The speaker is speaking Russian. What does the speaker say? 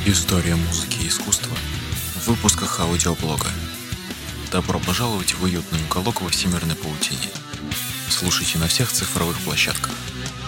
История музыки и искусства в выпусках аудиоблога. Добро пожаловать в уютный уголок во всемирной паутине. Слушайте на всех цифровых площадках.